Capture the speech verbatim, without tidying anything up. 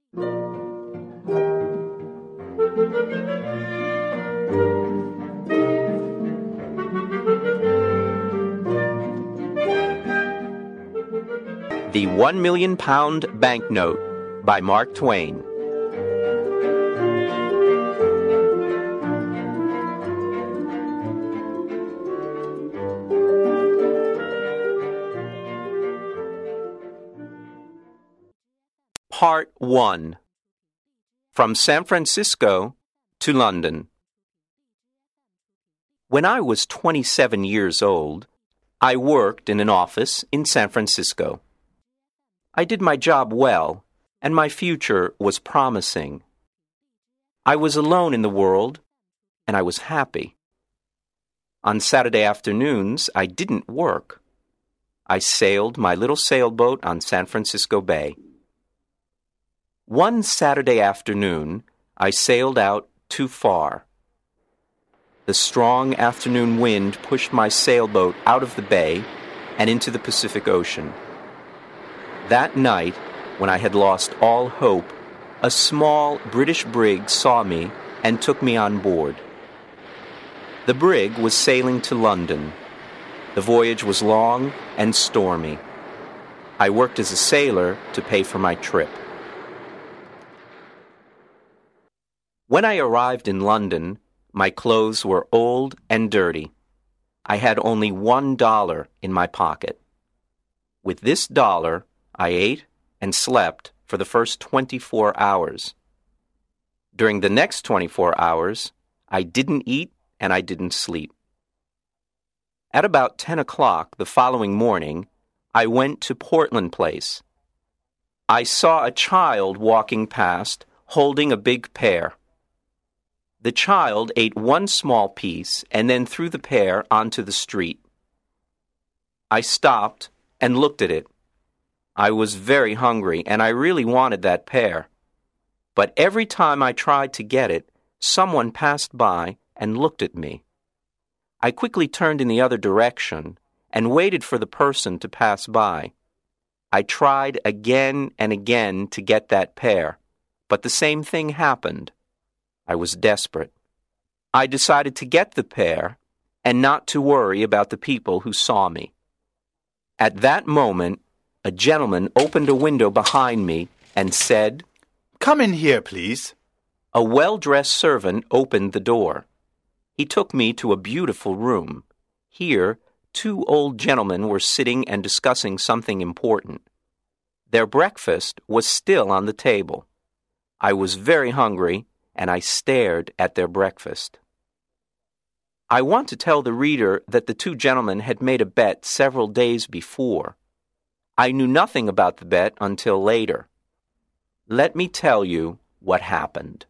The One Million Pound Banknote by Mark Twain. Part one. From San Francisco to London. When I was twenty-seven years old, I worked in an office in San Francisco. I did my job well, and my future was promising. I was alone in the world, and I was happy. On Saturday afternoons, I didn't work. I sailed my little sailboat on San Francisco Bay. One Saturday afternoon, I sailed out too far. The strong afternoon wind pushed my sailboat out of the bay and into the Pacific Ocean. That night, when I had lost all hope, a small British brig saw me and took me on board. The brig was sailing to London. The voyage was long and stormy. I worked as a sailor to pay for my trip. When I arrived in London, my clothes were old and dirty. I had only one dollar in my pocket. With this dollar, I ate and slept for the first twenty-four hours. During the next twenty-four hours, I didn't eat and I didn't sleep. At about ten o'clock the following morning, I went to Portland Place. I saw a child walking past holding a big pear. The child ate one small piece and then threw the pear onto the street. I stopped and looked at it. I was very hungry, and I really wanted that pear. But every time I tried to get it, someone passed by and looked at me. I quickly turned in the other direction and waited for the person to pass by. I tried again and again to get that pear, but the same thing happened. I was desperate. I decided to get the pear and not to worry about the people who saw me. At that moment, a gentleman opened a window behind me and said, "Come in here, please." A well-dressed servant opened the door. He took me to a beautiful room. Here, two old gentlemen were sitting and discussing something important. Their breakfast was still on the table. I was very hungry, and I stared at their breakfast. I want to tell the reader that the two gentlemen had made a bet several days before. I knew nothing about the bet until later. Let me tell you what happened.